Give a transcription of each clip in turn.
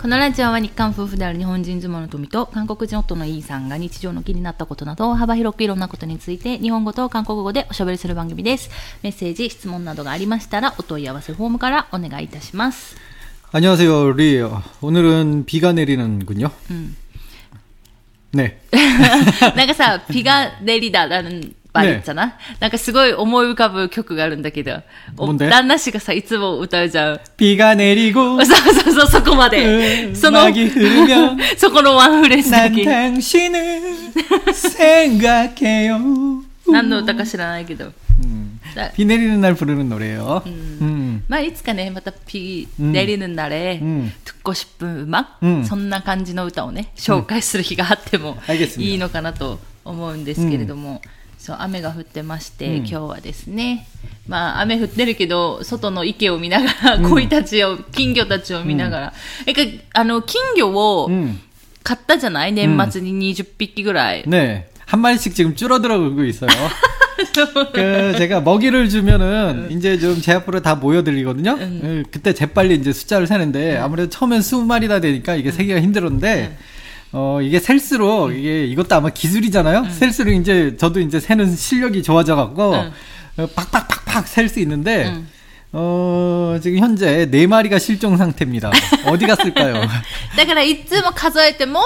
このラジオは日韓夫婦である日本人妻の富と韓国人夫のイーさんが日常の気になったことなど幅広くいろんなことについて日本語と韓国語でおしゃべりする番組です。メッセージ、質問などがありましたらお問い合わせフォームからお願いいたします。 안녕하세요, 리. 오늘은 비가 내리는군요. 네. なんかさ、ビが練りだ라는 말이 있잖아. なんかすごい思い浮かぶ曲があるんだけど、旦那氏がさいつも歌うじゃん。 비가 내리고 そうそこまで。そのそこのワンフレーズだけ。 난 당신을 생각해요. 何の歌か知らないけど。 비 내리는 날 부르는 노래예요. まあいつかねまた비 내리는 날에 듣고 싶은 음악、そんな感じの歌をね紹介する日があってもいいのかなと思うんですけれども、そう雨が降ってまして、今日はですね、まあ雨降ってるけど外の池を見ながら、鯉たちを金魚たちを見ながら、金魚を買ったじゃない、年末に20匹ぐらい。 네, 한 마리씩 지금 줄어들어가고 있어요. 제가 먹이를 주면은 이제 좀 제 앞으로 다 모여들리거든요. 그때 재빨리 이제 숫자를 세는데 아무래도 처음엔 20마리다 되니까 이게 세기가 힘들었는데 이게 셀수록 이것도 아마 기술이잖아요. 셀수록 이제 저도 이제 세는 실력이 좋아져갖고 팍팍팍팍 셀 수 있는데 지금 현재 4마리가 실종 상태입니다. 어디 갔을까요? だからいつも数えても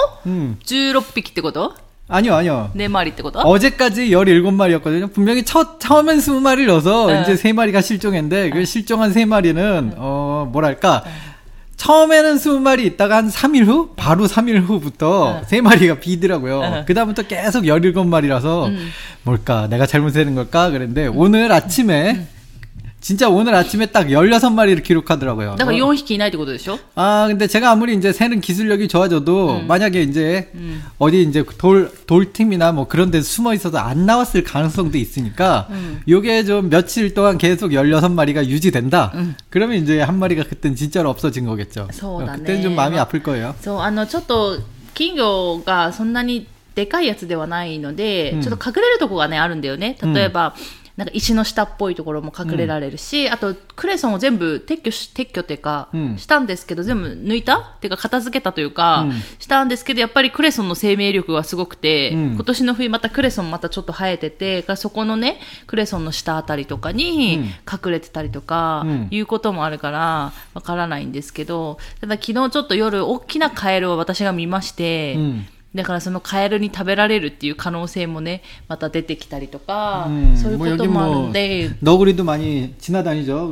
16匹ってこと? 아니요. 4마리ってこと? 어제까지 17마리였거든요. 분명히 처음엔 20마리를 넣어서 이제 3마리가 실종했는데 그 실종한 3마리는 뭐랄까 처음에는 20마리 있다가 한 3일 후 바로 3일 후부터 3마리가 비더라고요. 그 다음부터 계속 17마리라서 뭘까 내가 잘못 세는 걸까 그랬는데 오늘 아침에 진짜 오늘 아침에 딱 16마리를 기록하더라고요. 그러니까 4匹いないってことでしょ? 아, 근데 제가 아무리 이제 세는 기술력이 좋아져도 만약에 이제 어디 이제 돌틈이나 뭐 그런 데 숨어 있어도 안 나왔을 가능성도 있으니까 요게 좀 며칠 동안 계속 16마리가 유지된다. 그러면 이제 한 마리가 그땐 진짜로 없어진 거겠죠. 그때는 좀 마음이 아플 거예요. ちょっと金魚がそんなにでかいやつではないので、ちょっと隠れるとこがねあるんだよね。例えばなんか石の下っぽいところも隠れられるし、あとクレソンを全部撤去っていうか、したんですけど全部抜いたっていうか片付けたというか、したんですけどやっぱりクレソンの生命力がすごくて、今年の冬またクレソンまたちょっと生えてて、そこのねクレソンの下あたりとかに隠れてたりとか、いうこともあるからわからないんですけど、ただ昨日ちょっと夜大きなカエルを私が見まして、だからそのカエルに食べられるっていう可能性もねまた出てきたりとか、そういうこともあるんで、 너구리도 많이 지나다니죠.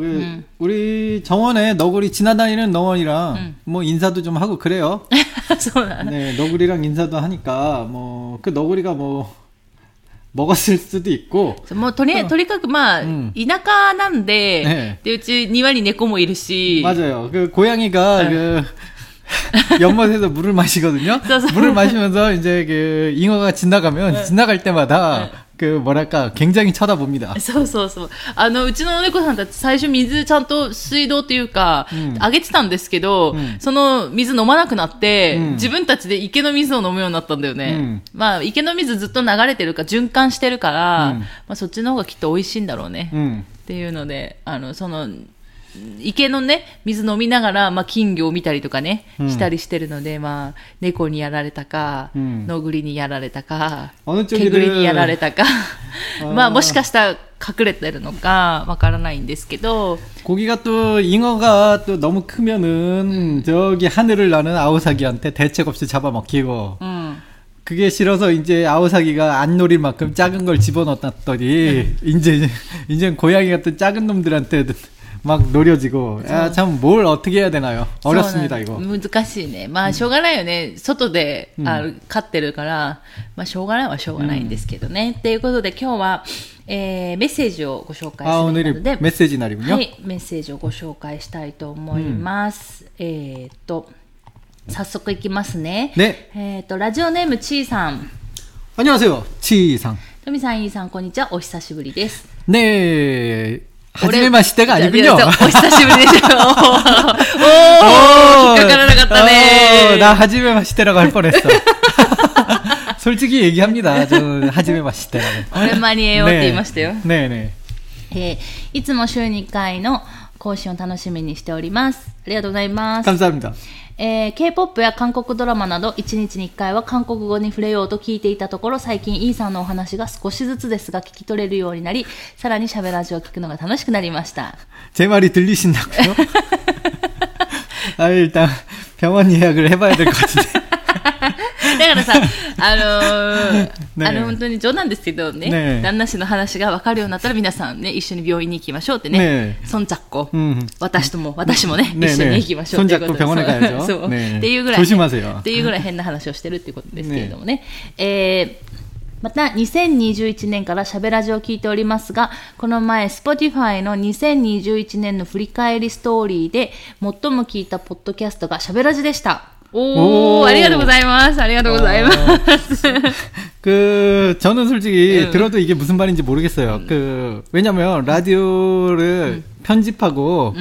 우리 정원에 너구리 지나다니는 너원이랑 뭐 인사도 좀 하고 그래요. 네, 너구리랑 인사도 하니까 뭐 그 너구리가 뭐 먹었을 수도 있고. もうとにかくまあ、田舎なんで、でうち庭に猫もいるし。 맞아요. 그 고양이가 그 연못에서 물을 마시거든요. 물을 마시면서 이제 그 잉어가 지나가면 지나갈 때마다 그 뭐랄까 굉장히 쳐다봅니다. そううちの猫さんたち最初水ちゃんと水道っていうか、あげてたんですけど、その水飲まなくなって、自分たちで池の水を飲むようになったんだよね。まあ池の水ずっと流れてるから循環してるから、まあそっちの方がきっと美味しいんだろうね。っていうので、その池のね水飲みながら、まあ、金魚を見たりとかね、したりしてるので、まあ、猫にやられたか、のぐりにやられたか、毛ぐりにやられたかまあもしかしたら隠れてるのかわからないんですけど、 고기가 또 잉어가 또 너무 크면은 저기 하늘을 나는 아오사기한테 대책 없이 잡아먹히고 그게 싫어서 이제 아오사기가 안 노릴 만큼 작은 걸 집어넣었더니 이제 고양이 같은 작은 놈들한테 막 노려지고, 참 뭘 어떻게 해야 되나요? 어렵습니다 이거. 難しいね。まあしょうがないよね。外で飼ってるから、まあしょうがないはしょうがないんですけどね。ということで今日は、メッセージをご紹介するので、 오늘이 메시지 날이군요. はい、メッセージをご紹介したいと思います。早速いきますね。 ね。 ラジオネームちーさん。 안녕하세요,ちーさん。 トミさん、イーさん、こんにちは。お久しぶりです。 네. 하지메마 시대가 아니군요. お久しぶりでしょ。おー、引っかからなかったね。 나 하지메마 시대라고 할 뻔했어. 솔직히 얘기합니다. 저는 하지메마 시대라고. 오랜만이에요って言いましたよ。 네네. いつも週2回の更新を楽しみにしております。ありがとうございます。 감사합니다。 K-POP や韓国ドラマなど1日に1回は韓国語に触れようと聞いていたところ、最近イーさんのお話が少しずつですが聞き取れるようになり、さらに喋ラジを聞くのが楽しくなりました。 제 말이 들리신다고요? 일단 병원 예약을 해봐야 될 것 같은데. だからさ、本当に冗談ですけどね、旦那氏の話が分かるようになったら皆さんね、一緒に病院に行きましょうってね、손 잡고、私もね、一緒に行きましょうっていうことで、そう、っていうぐらい変な話をしてるっていうことですけれどもね。また2021年からしゃべラジを聞いておりますが、この前 Spotify の2021年の振り返りストーリーで最も聞いたポッドキャストがしゃべラジでした。오, ありがとうございます。ありがとうございます。 저는 솔직히 들어도 이게 무슨 말인지 모르겠어요. 왜냐면 라디오를 편집하고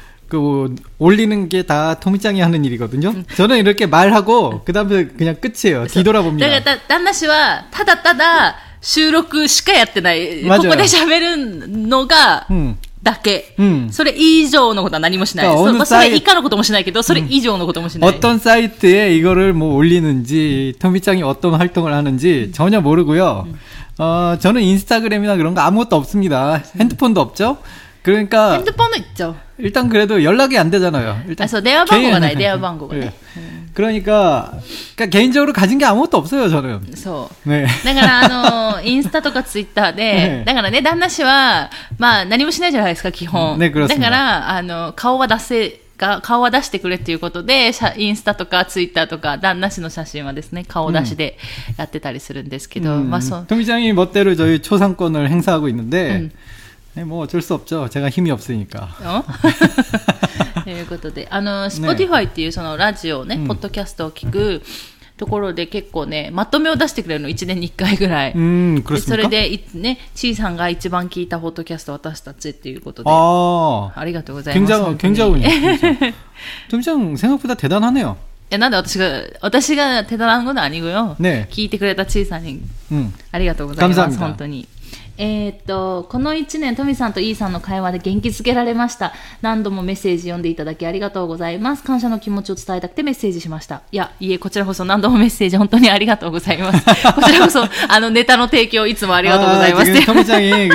올리는 게 다 토미짱이 하는 일이거든요. 저는 이렇게 말하고 그다음에 그냥 끝이에요. 뒤돌아봅니다. 그러니까旦那氏はただただ収録しかやってない。ここで喋るのがだけ。それ以上のことは何もしない。それ以下のこともしないけど、それ以上のこともしない。 어떤 사이트에 이거를 뭐 올리는지, 토미짱이 어떤 활동을 하는지 전혀 모르고요. 저는 인스타그램이나 그런 거 아무것도 없습니다. 핸드폰도 없죠. 그러니까 핸드폰은 있죠. 일단 그래도 연락이 안 되잖아요. 일단 대화番号がない, 대화番号がね. 그러니까 개인적으로 가진 게 아무것도 없어요, 저는. そう。ね。だからインスタとかツイッターで、だからね、旦那氏はまあ何もしないじゃないですか、基本。ね、だから顔は出してくれっていうことで、インスタとかツイッターとか旦那氏の写真はですね、顔出しでやってたりするんですけど、まあそう。 토미짱이 멋대로 저희 초상권을 행사하고 있는데. 네, 뭐 어쩔 수 없죠. 제가 힘이 없으니까. ということで、Spotify っていうそのラジオね、ポッドキャストを聞くところで結構ね、まとめを出してくれるの1年に1回ぐらい。それでね、ちーさんが一番聞いたポッドキャスト私たちっていうことで。ありがとうございます。 굉장히 토미짱 생각보다 대단하네요. なんで私が手だんごの아니고요。聞いてくれたちーさんにありがとうございます。本当に。この1年トミさんとイーさんの会話で元気づけられました。何度もメッセージ読んでいただきありがとうございます。感謝の気持ちを伝えたくてメッセージしました。こちらこそ何度もメッセージ本当にありがとうございます。こちらこそネタの提供いつもありがとうございます。 토미짱이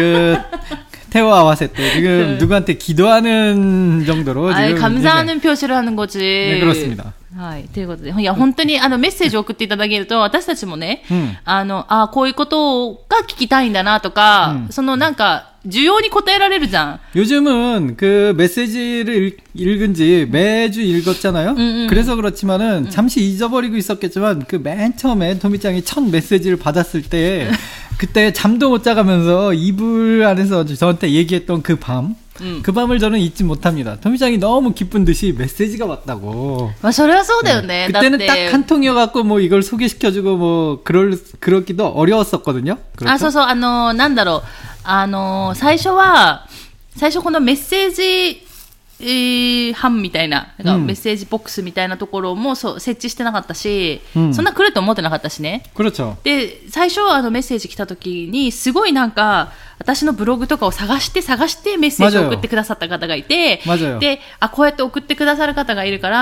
태워와세 때 지금 누구한테 기도하는 정도로 지금 감사하는 표시를 하는 거지. 네, 그렇습니다. はい。ということで、いや、本当にメッセージを送っていただけると、私たちもね、こういうことが聞きたいんだなとか、なんか、需要に応えられるじゃん。 요즘은 그 메시지를 읽은 지 매주 읽었잖아요. 그래서 그렇지만은 잠시 잊어버리고 있었겠지만 그 맨 처음에 토미짱이 첫 메시지를 받았을 때 그때 잠도 못 자가면서 이불 안에서 저한테 얘기했던 그 밤. 그 밤을 저는 잊지 못합니다. 토미짱이 너무 기쁜 듯이 메시지가 왔다고. それはそうだよね. 그때는 딱 한 통이어갖고 뭐 이걸 소개시켜주고 뭐 그러기도 어려웠었거든요. 그렇죠? なんだろう。最初このメッセージ班みたいな、メッセージボックスみたいなところも設置してなかったし、そんな来ると思ってなかったしね。で、最初メッセージ来た時に、すごいなんか、私のブログとかを探してメッセージを送ってくださった方がいて、で、こうやって送ってくださる方がいるから、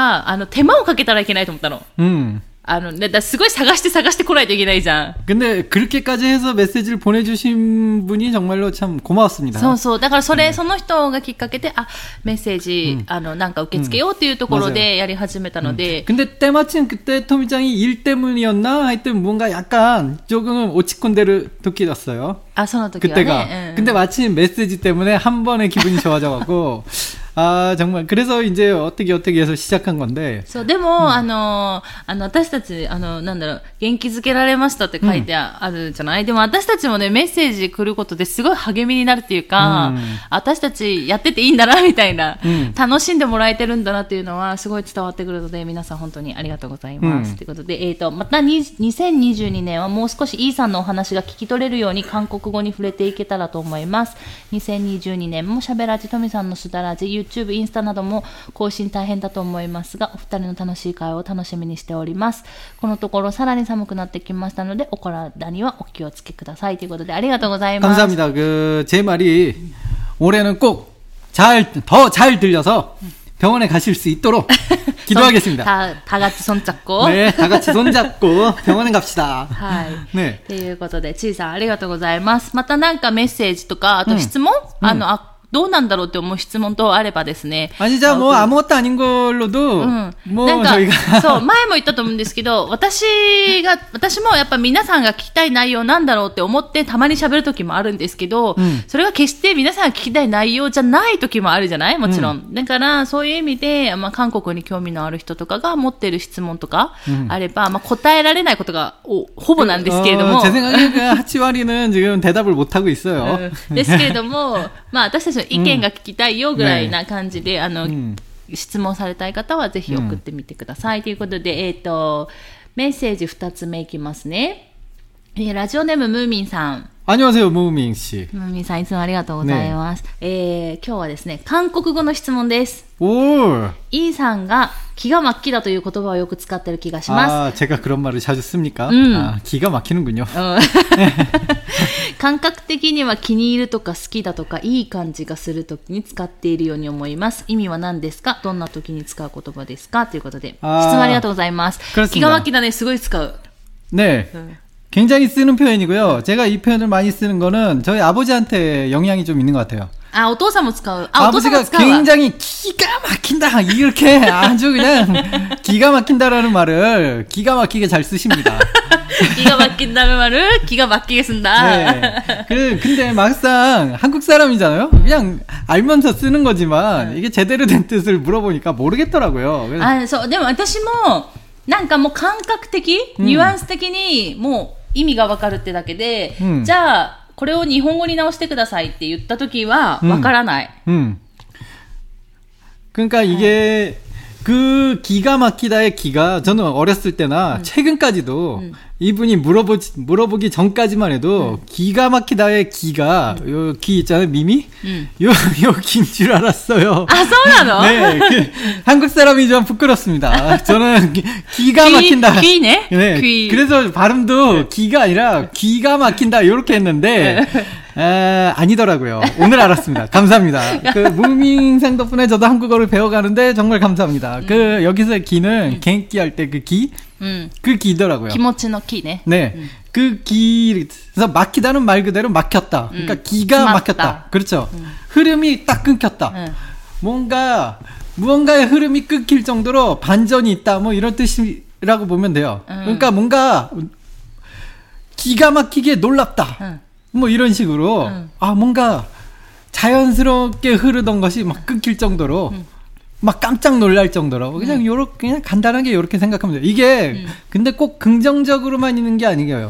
手間をかけたらいけないと思ったの。すごい探して来ないといけないじゃん。 근데 그렇게까지 해서 메시지를 보내주신 분이 정말로 참 고마웠습니다. そう。だからその人がきっかけで、メッセージ、なんか受け付けようっていうところでやり始めたので。 근데 때마침 그때 토미짱이 일 때문이었나? 하여튼 뭔가 약간 조금 오치콘데를 도끼었어요. その時はね。 그때가. 근데 마침 메시지 때문에 한 번에 기분이 좋아져가고. 정말 그래서 이제 어떻게 해서 시작한 건데. そうでも、私たちなんだろう、元気づけられましたって書いてあるじゃない。でも私たちもね、メッセージ来ることですごい励みになるっていうか、私たちやってていいんだなみたいな、楽しんでもらえてるんだなっていうのはすごい伝わってくるので、皆さん本当にありがとうございます。ということで、また2022年はもう少しイーさんのお話が聞き取れるように韓国語に触れていけたらと思います。2022年もしゃべらじトミさんのすだらじ、YouTube、インスタなども更新大変だと思いますが、お二人の楽しい会話を楽しみにしております。このところさらに寒くなってきましたので、お体にはお気をつけくださいということで、ありがとうございます。 감사합니다. 제 말이 올해는 꼭 더 잘 들려서 병원에 가실 수 있도록 기도하겠습니다. 다 같이 손잡고. 네, 다 같이 손잡고 병원에 갑시다. はい。 네. ということで、ちいさんありがとうございます。またなんかメッセージとか、あと質問、どうなんだろうって思う質問等あればですね。 じゃあもう아무것도 아닌 걸로도、もう저희가 そう、前も言ったと思うんですけど、私もやっぱ皆さんが聞きたい内容なんだろうって思ってたまに喋る時もあるんですけど、それが決して皆さんが聞きたい内容じゃない時もあるじゃない？もちろん。だから、そういう意味で、韓国に興味のある人とかが持ってる質問とかあれば、答えられないことがほぼなんですけれども。 제 생각에8割는 지금 대답을 못하고 있어요. ですけれども、私たちの意見が聞きたいよぐらいな感じで、質問されたい方はぜひ送ってみてください。ということで、メッセージ2つ目いきますね。ラジオネームムーミンさん。 안녕하세요, 무민 씨. ムーミンさんいつもありがとうございます。今日はですね、韓国語の質問です。イーさんが기가 막히다という言葉をよく使ってる気がします。 제가 그런 말을 자주 씁니까? 기가 막히는군요. 感覚的には気に入るとか好きだとかいい感じがするときに使っているように思います。意味は何ですか？どんなときに使う言葉ですか？ということで、質問ありがとうございます。기가 막히다ね、すごい使う。 네. 굉장히 쓰는 표현이고요. 제가 이 표현을 많이 쓰는 거는 저희 아버지한테 영향이 좀 있는 것 같아요. お父さんも使う。 아버지가 굉장히 기가 막힌다 이렇게 아주 그냥 기가 막힌다라는 말을 기가 막히게 잘 쓰십니다. 기가 막힌다는 말을 기가 막히게 쓴다. 네. 근데 막상 한국 사람이잖아요. 그냥 알면서 쓰는 거지만 이게 제대로 된 뜻을 물어보니까 모르겠더라고요. そう。でも私もなんかもう感覚的、ニュアンス的にもう意味がわかるってだけで、じゃあこれを日本語に直してくださいって言ったときはわからない。 그러니까 이게 그 기가 막히다의 기가 저는 어렸을 때나 최근까지도 이분이 물어보기 전까지만 해도 기가 막히다의 기가 요 기 있잖아요, 미미? 요 기인 줄 알았어요. 아, そうなの? 네, 한국 사람이 좀 부끄럽습니다. 저는 기가 막힌다. 귀네? 네, 귀. 그래서 발음도 기가 아니라 기가 막힌다 이렇게 했는데 아니더라고요. 오늘 알았습니다. 감사합니다. 그 무민생 덕분에 저도 한국어를 배워가는데 정말 감사합니다. 그 여기서의 기는 갱기 할 때 그 기? 그 기더라고요. 기모치의 기네. 네. 그 그래서 막히다는 말 그대로 막혔다. 그러니까 기가 막혔다. 그렇죠. 흐름이 딱 끊겼다. 무언가의 흐름이 끊길 정도로 반전이 있다. 뭐 이런 뜻이라고 보면 돼요. 그러니까 뭔가 기가 막히게 놀랍다. 뭐 이런 식으로 뭔가 자연스럽게 흐르던 것이 막 끊길 정도로 막 깜짝 놀랄 정도로 그냥 간단하게 이렇게 생각하면 돼요. 이게 근데 꼭 긍정적으로만 있는 게 아니에요.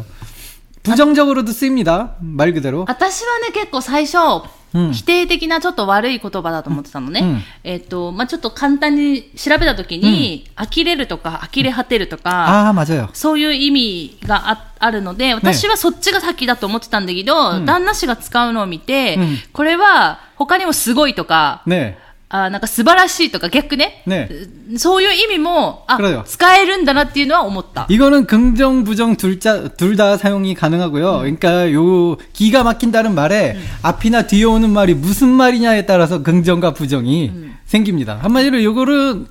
부정적으로도 쓰입니다. 말 그대로. 私はね、結構最初否定的なちょっと悪い言葉だと思ってたのね。ちょっと簡単に調べたときに、呆れるとか呆れ果てるとか、 맞아요. そういう意味があるので、私はそっちが先だと思ってたんだけど、旦那氏が使うのを見て、これは他にもすごいとか、なんか素晴らしいとか逆ね。そういう意味も、使えるんだなっていうのは思った。 이거는 긍정, 부정 둘 다 사용이 가능하고요. 그러니까 요 기가 막힌다는 말에 앞이나 뒤에 오는 말이 무슨 말이냐에 따라서 긍정과 부정이 생깁니다. 한마디로 요거를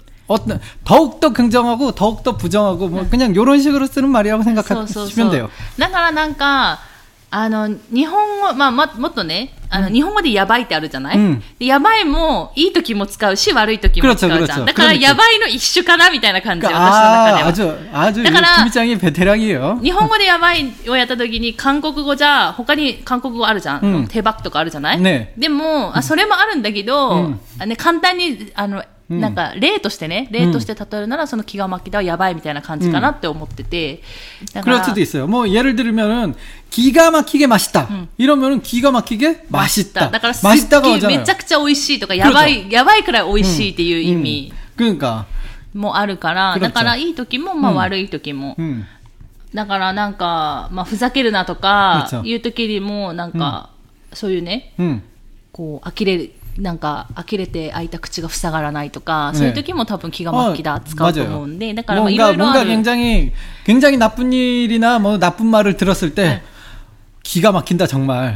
더욱더 긍정하고 더욱더 부정하고 뭐 그냥 요런 식으로 쓰는 말이라고 생각하시면 돼요. だからなんか日本語、もっとね、日本語でやばいってあるじゃない、でやばいも、いい時も使うし、悪い時も使うじゃん。だから、やばいの一種かなみたいな感じ、私の中では。 아주、だから、김장이 베테랑이에요。 日本語でやばいをやった時に、韓国語じゃ、他に韓国語あるじゃん。手バクとかあるじゃない、でも、それもあるんだけど、簡単に、なんか例としてね、例として例えるならその気が巻きだはやばいみたいな感じかなって思ってて、 그럴 수도 있어요. 뭐 예를 들면은 기가 막히게 맛있다. 이러면은 기가 막히게 맛있다. だからすっげえめちゃくちゃ美味しいとかやばいくらい美味しいっていう意味もあるから、だからいい時も悪い時も、だからなんかふざけるなとかいう時にもなんかそういうね、こうなんか呆れて開いた口が塞がらないとか、そういう時も多分気が巻きだ使うと思うんで、だからいろいろある。 뭔가 굉장히 나쁜 일이나 뭐 나쁜 말을 들었을 때 기가 막힌다 정말.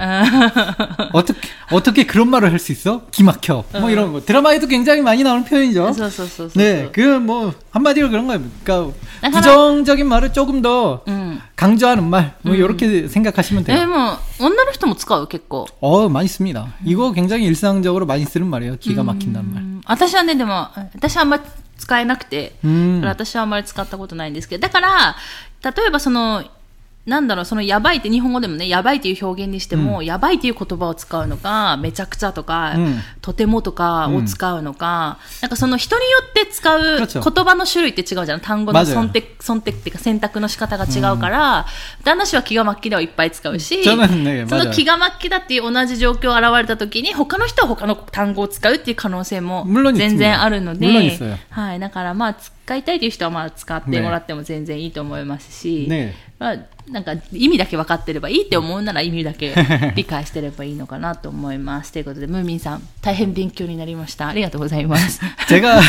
어떻게 그런 말을 할 수 있어? 기막혀. 뭐 이런 거. 드라마에도 굉장히 많이 나오는 표현이죠. 네, 그 뭐 한마디로 그런 거예요. 그러니까 부정적인 말을 조금 더 강조하는 말. 뭐 이렇게 생각하시면 돼요. 뭐女の人も使う結構. 많이 씁니다. 이거 굉장히 일상적으로 많이 쓰는 말이에요. 기가 막힌다는 말. 私はねでも私はあんまり使えなくて、私はあんまり使ったことないんですけど、だから例えばそのなんだろう、そのやばいって日本語でもね、やばいっていう表現にしても、やばいっていう言葉を使うのか、めちゃくちゃとか、とてもとかを使うのか、なんかその人によって使う言葉の種類って違うじゃん。単語の選択っていうか選択の仕方が違うから、旦那氏は気が巻きではいっぱい使うし、その気が巻きだっていう同じ状況現れた時に、他の人は他の単語を使うっていう可能性も全然あるので、はい、だからまあ使いたいという人はまあ使ってもらっても全然いいと思いますし、まあなんか意味だけ分かってればいいって思うなら意味だけ理解してればいいのかなと思います。ということでムーミンさん大変勉強になりました。ありがとうございます。 제가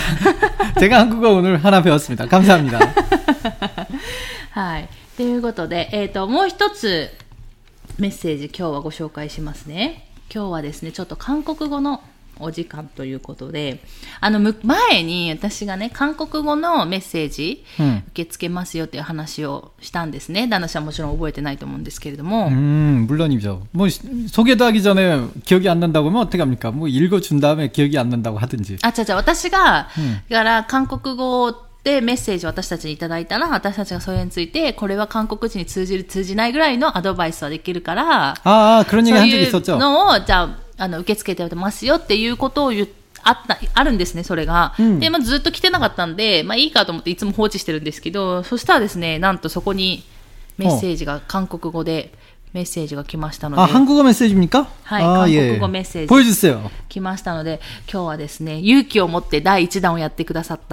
한국어 오늘 하나 배웠습니다. 감사합니다. はい。ということでもう一つメッセージ今日はご紹介しますね。今日はですねちょっと韓国語のお時間ということで、前に私がね、韓国語のメッセージ、受け付けますよっていう話をしたんですね。旦那さんもちろん覚えてないと思うんですけれども。 물론이죠. 뭐 소개도 하기 전에 기억이 안 난다고 하면 어떻게 합니까? 뭐 읽어준 다음에 기억이 안 난다고 하든지. 私が、だから韓国語でメッセージを私たちにいただいたら、私たちがそれについて、これは韓国人に通じる通じないぐらいのアドバイスはできるから、 그런 얘기 한 적이 있었죠. のをじゃあ受け付けてますよっていうことをあるんですね、それが。で、ずっと来てなかったんで、いいかと思っていつも放置してるんですけど、そしたらですね、なんとそこにメッセージが、韓国語でメッセージが来ましたので。 한국어 메시지입니까? はい、韓国語メッセージ。 보여주세요. 来ましたので、今日はですね、勇気を持って第1弾をやってくださった、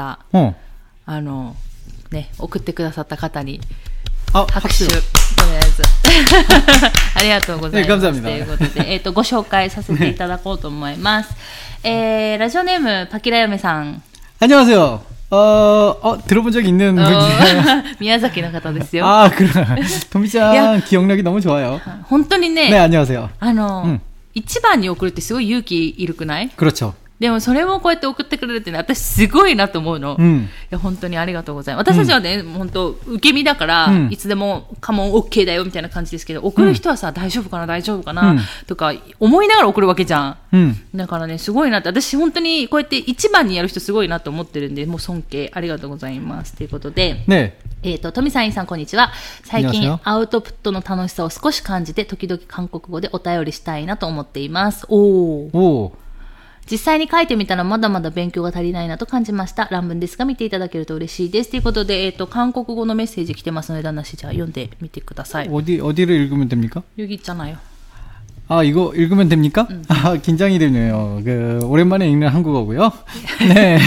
送ってくださった方に、拍手。とりあえずありがとうございます。ということで、ご紹介させていただこうと思います。ラジオネームパキラヨメさん。 안녕하세요. 들어본 적 있는 분이에요. 宮崎の方ですよ。 그래. 도미짱 기억력이 너무 좋아요. 本当にね。 네, 안녕하세요. 一番に送るってすごい勇気いるくない？ 그렇죠. でもそれをこうやって送ってくれるってね、私すごいなと思うの。いや本当にありがとうございます。私たちはね、本当受け身だから、いつでもカモン OK だよみたいな感じですけど、送る人はさ、大丈夫かな、とか思いながら送るわけじゃん。だからね、すごいなって、私本当にこうやって一番にやる人すごいなと思ってるんで、もう尊敬ありがとうございます。ということで、トミさん、インさん、こんにちは。最近アウトプットの楽しさを少し感じて、時々韓国語でお便りしたいなと思っています。実際に書いてみたらまだまだ勉強が足りないなと感じました。乱文ですが見ていただけると嬉しいです。ということで、韓国語のメッセージ来てますので、旦那氏じゃあ読んでみてください。 어디를 읽으면 됩니까? 여기 있잖아요. 이거 읽으면 됩니까? 긴장이 되네요. 오랜만에 읽는 한국어고요. 네.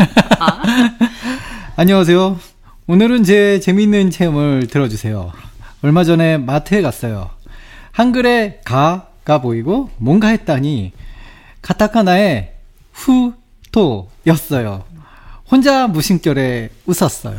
안녕하세요. 오늘은 제 재미있는 체험을 들어주세요. 얼마 전에 마트에 갔어요. 한글에 가가 보이고 뭔가 했다니 카타카나에 후토였어요. 혼자 무심결에 웃었어요.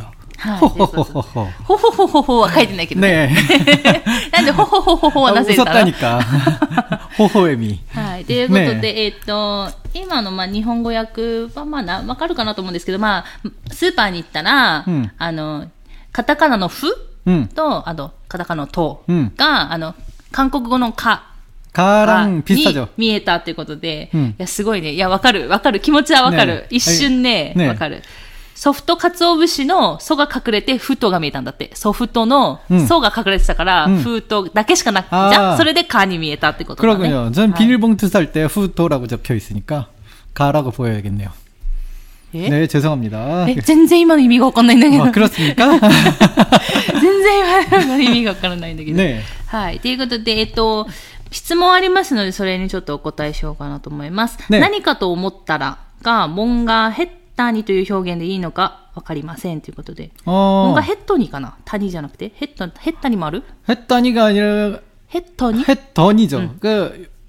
호호호호호は書いてないけどね。なんでホホホホホはなぜだろう。 웃었다니까. 호호에미. はい。ということで、今の日本語訳はわかるかなと思うんですけど、スーパーに行ったら、カタカナのフと、カタカナのトが、韓国語のカ。 가랑 비슷하죠. 見えたっていうことで、いや、すごいね。いや、わかる。気持ちはわかる。一瞬ね、わかる。ソフト鰹節のソが隠れて、フトが見えたんだって。ソフトのソが隠れてたから、フトだけしかなくて、じゃあ、それでカに見えたってことだね。 그렇군요. 전 비닐봉투 살 때 후토라고 적혀 있으니까 가라고 보여야겠네요. 네, 죄송합니다. 全然今の意味がわかんないんだけど。 그렇습니까? 全然今の意味がわからないんだけど。ね。はい。ということで、質問ありますので、それにちょっとお答えしようかなと思います。ね、何かと思ったらが、モンガヘッタニという表現でいいのかわかりませんということで。モンガヘットニかな？谷じゃなくてヘッタニもある？ ヘッタニが아니라 ヘットニ？ ヘットニ죠。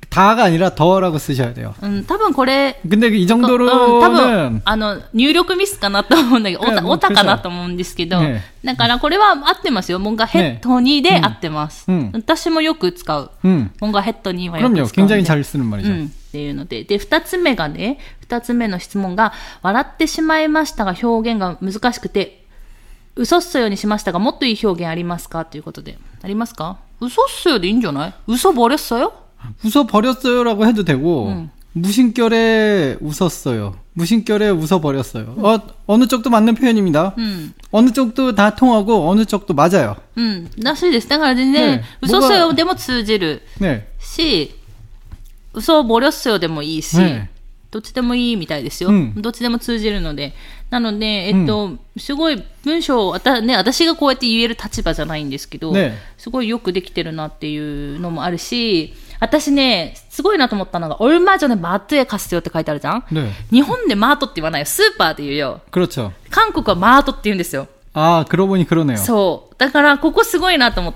다가 아니라 더라고 쓰셔야 돼요. 多分これ 근데 이 정도로는 多分入力ミスかなと思うんだけど、オタかなと思うんですけど、だからこれは合ってますよ。뭔가ヘッドにで合ってます。私もよく使う。뭔가ヘッドにはよく使う。 굉장히 잘 쓰는 말이죠. っていうので、で2つ目の質問が笑ってしまいましたが表現が難しくて嘘っそよにしましたがもっといい表現ありますかということで、ありますか？嘘っそよでいいんじゃない？嘘버렸어요？ 웃어버렸어요라고 해도 되고 무심결에 웃었어요. 무심결에 웃어버렸어요. 어느 쪽도 맞는 표현입니다. 어느 쪽도 다 통하고 어느 쪽도 맞아요. らしいです。だから全然、嘘っそよでも通じるし、嘘버렸어요でもいいし、どっちでもいいみたいですよ。どっちでも通じるので。なので、すごい文章を、私がこうやって言える立場じゃないんですけど、すごいよくできてるなっていうのもあるし、私ね、すごいなと思ったのが、얼마전에마트에갔어요って書いてあるじゃん、日本でマートって言わないよ。スーパーって言うよ。 그렇죠。 韓国はマートって言うんですよ。 그러보니그러네요。 そう。だから、ここすごいなと思って、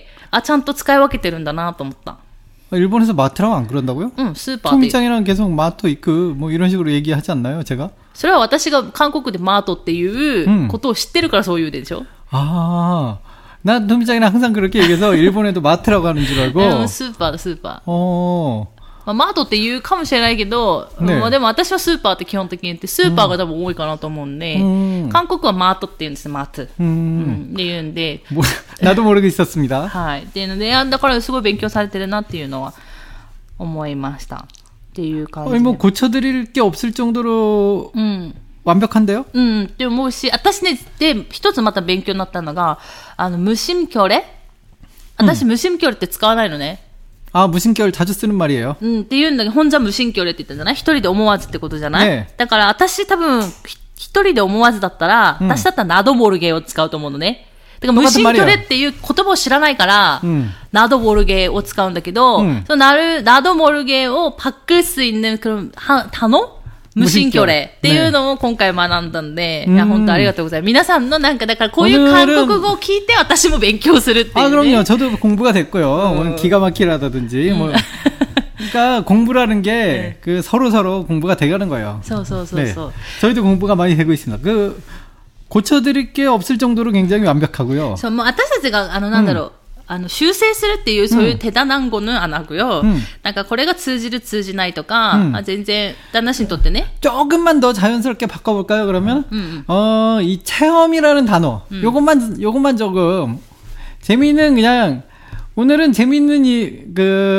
ちゃんと使い分けてるんだなと思った。 일본에서 마트라고 안 그런다고요? 응, 스ーパー. 총장이랑 계속 마토 이크 뭐 이런 식으로 얘기하지 않나요, 제가? それは私が韓国でマートっていうことを知ってるからそう言うでしょ? 난 총장이랑 항상 그렇게 얘기해서 일본에도 마트라고 하는 줄 알고. スーパー。マートって言うかもしれないけど、でも私はスーパーって基本的に言って、スーパーが多分多いかなと思うんで、韓国はマートって言うんです、マート。って言うんで。 나도 모르게 있었습니다. はい。っていうので、だからすごい勉強されてるなっていうのは思いました。っていう感じで。 뭐 고쳐드릴 게 없을 정도로 완벽한데요? って思うし、私ね、で、一つまた勉強になったのが、무심결에? 私、無心결에って使わないのね。 무심결 자주 쓰는 말이에요. って言うんだけど、혼자 무심결에って言ったんじゃない？一人で思わずってことじゃない？ 네. だから私多分、一人で思わずだったら、私だったら나도 모르게を使うと思うのね。だから무심결에っていう言葉を知らないから、나도 모르게を使うんだけど、その나도 모르게を바꿀 수 있는 그런 단어? 무심결에っていうのを今回学んだんで、いや、本当ありがとうございます。皆さんのなんか、だからこういう韓国語を聞いて私も勉強するっていう、ね。 그럼요. 저도 공부가 됐고요. 오늘 기가 막히라든지, 뭐. 그러니까 공부라는 게 그 서로 공부가 돼가는 거예요. 네. 저희도 공부가 많이 되고 있습니다. 고쳐드릴 게 없을 정도로 굉장히 완벽하고요. そう、もう私たちが、なんだろう。修正するっていうそういう手だなんごの안 하고요. なんかこれが通じる通じないとか、全然旦那氏にとってね. 조금만 더 자연스럽게 바꿔볼까요? 그러면 이 체험이라는 단어, 요것만 조금 재미있는 그냥 오늘은 재미있는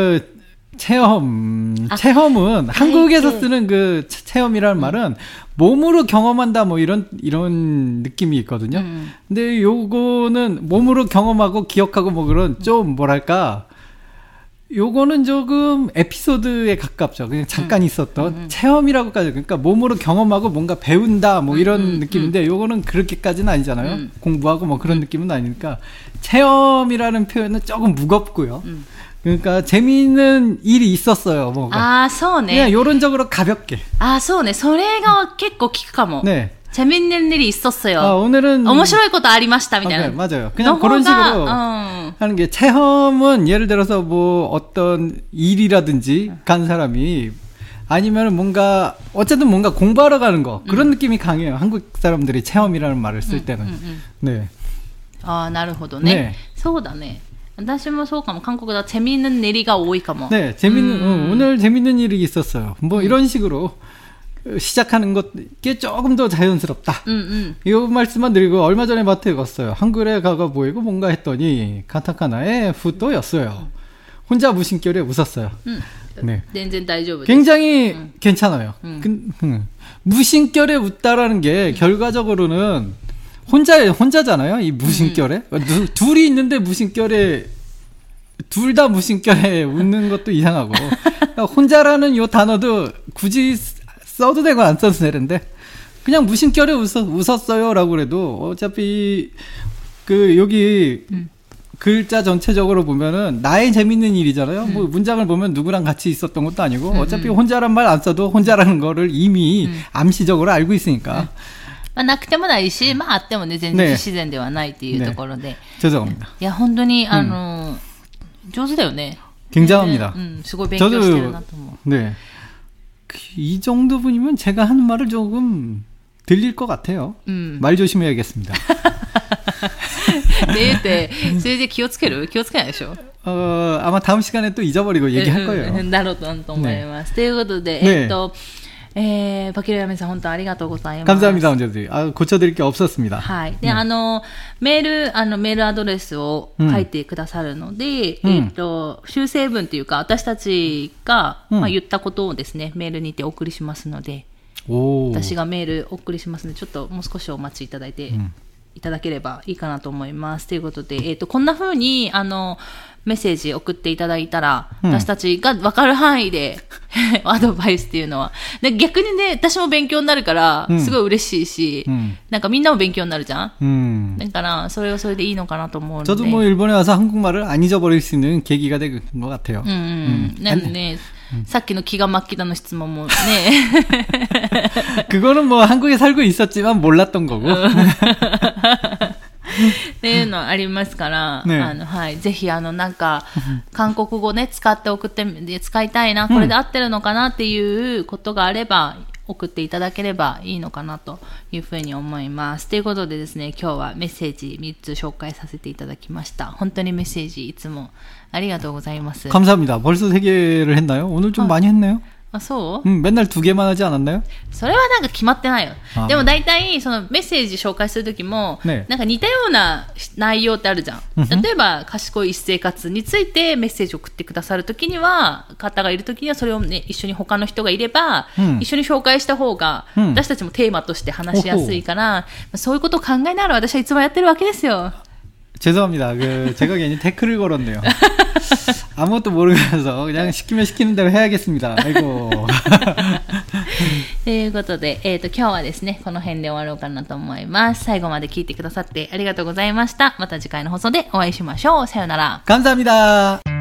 체험은 한국에서 쓰는 그 체험이라는 말은 몸으로 경험한다 뭐 이런 느낌이 있거든요. 근데 요거는 몸으로 경험하고 기억하고 뭐 그런 좀 뭐랄까 요거는 조금 에피소드에 가깝죠. 그냥 잠깐 있었던 체험이라고까지. 그러니까 몸으로 경험하고 뭔가 배운다 뭐 이런 느낌인데 요거는 그렇게까지는 아니잖아요. 공부하고 뭐 그런 느낌은 아니니까 체험이라는 표현은 조금 무겁고요. 그러니까 재미있는 일이 있었어요. 뭐가. そうね. 그냥 요런적으로 가볍게. そうね. それが結構聞くかも. 네. 재밌는 일이 있었어요. 오늘은 面白いことありましたみたいな. 맞아요. 그냥 그런 식으로 하는 게 체험은 예를 들어서 뭐 어떤 일이라든지 간 사람이 아니면 뭔가 어쨌든 뭔가 공부하러 가는 거 그런 느낌이 강해요. 한국 사람들이 체험이라는 말을 쓸 때는. 네. なるほどね. そうだね. 私もそうかも。韓国では재미있는 일이が多いかも. 네, 오늘 재밌는 일이 있었어요. 뭐 이런 식으로 시작하는 것게 조금 더 자연스럽다. 이 말씀만 드리고 얼마 전에 마트에 갔어요. 한글에 가가 보이고 뭔가 했더니 카타카나에 푸또였어요. 혼자 무심결에 웃었어요. 네. 굉장히 괜찮아요. 무심결에 웃다라는 게 결과적으로는 혼자잖아요. 이 무심결에. 둘이 있는데 무심결에, 둘 다 무심결에 웃는 것도 이상하고. 혼자라는 요 단어도 굳이 써도 되고 안 써도 되는데, 그냥 무심결에 웃었어요. 라고 그래도 어차피, 여기, 글자 전체적으로 보면은 나의 재밌는 일이잖아요. 뭐 문장을 보면 누구랑 같이 있었던 것도 아니고, 어차피 혼자란 말 안 써도 혼자라는 거를 이미 암시적으로 알고 있으니까. なくてもないし、あってもね、全然不自然ではないっていうところで。 죄송합니다. いや、本当に、上手だよね。 굉장합니다. 수고勉強してるなと思う. 네. 이 정도 분이면 제가 하는 말을 조금 들릴 것 같아요. 말 조심해야겠습니다. 네, 네. それで気をつける?気をつけないでしょ? 아마 다음 시간에 또 잊어버리고 얘기할 거예요. なると思います。ということで、バキロヤメさん本当ありがとうございます。 감사합니다. 언제든. 고쳐드릴 게 없었습니다. はい。で、メールアドレスを書いてくださるので、修正文というか、私たちが、言ったことをですね、メールにてお送りしますので、私がメールお送りしますので、ちょっともう少しお待ちいただいて、いただければいいかなと思います。ということで、こんな風に、メッセージ送っていただいたら、私たちが分かる範囲でアドバイスっていうのは。で逆にね、私も勉強になるから、すごい嬉しいし、なんかみんなも勉強になるじゃん。だから、それはそれでいいのかなと思うので。 저도 뭐 일본에 와서 한국말을 안 잊어버릴 수 있는 계기가 된 것 같아요. なんでね、さっきの기가 막히다の質問もね。 그거는 뭐 한국에 살고 있었지만 몰랐던 거고. っていうのありますから、はい、ぜひなんか韓国語ね使いたいな、これで合ってるのかなっていうことがあれば送っていただければいいのかなというふうに思います。ということでですね、今日はメッセージ3つ紹介させていただきました。本当にメッセージいつもありがとうございます。 감사합니다. 벌써 3개를 했나요? 오늘 좀 많이 했네요. あ、そう? 맨날 2개만 하지 않았나요? それはなんか決まってないよ。でも大体そのメッセージ紹介するときも、なんか似たような内容ってあるじゃん。例えば賢い私生活についてメッセージを送ってくださるときには、方がいるときにはそれをね、一緒に他の人がいれば、一緒に紹介した方が、私たちもテーマとして話しやすいから、そういうことを考えながら私はいつもやってるわけですよ。 죄송합니다. 제가 괜히 태클을 걸었네요. 아무것도 모르면서 그냥 시키면 시키는 대로 해야겠습니다. 아이고. ということで、今日はですね、この辺で終わろうかなと思います。最後まで聞いてくださってありがとうございました。また次回の放送でお会いしましょう。さよなら。 감사합니다.